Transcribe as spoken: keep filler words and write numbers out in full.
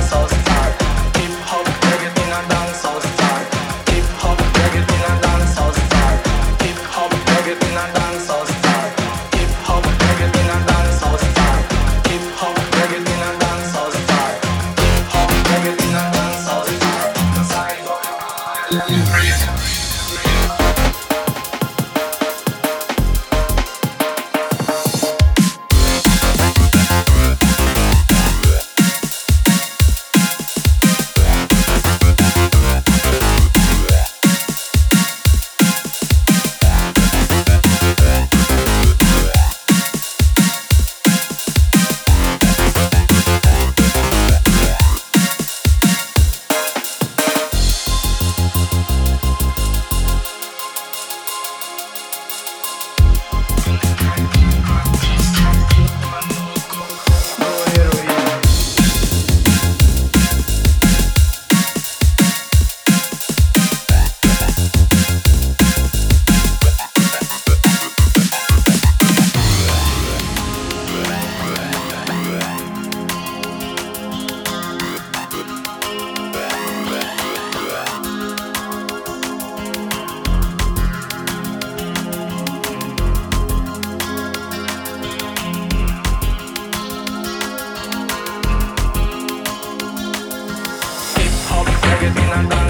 dancehall style. Hip hop reggae in a dancehall style. Hip hop reggae in a dancehall style. Hip hop reggae in a dancehall style. Hip hop reggae in a dancehall style. Hip hop reggae in a dancehall style. Hip hop reggae in a dancehall style. 'Cause I let me breathe. Reggae in a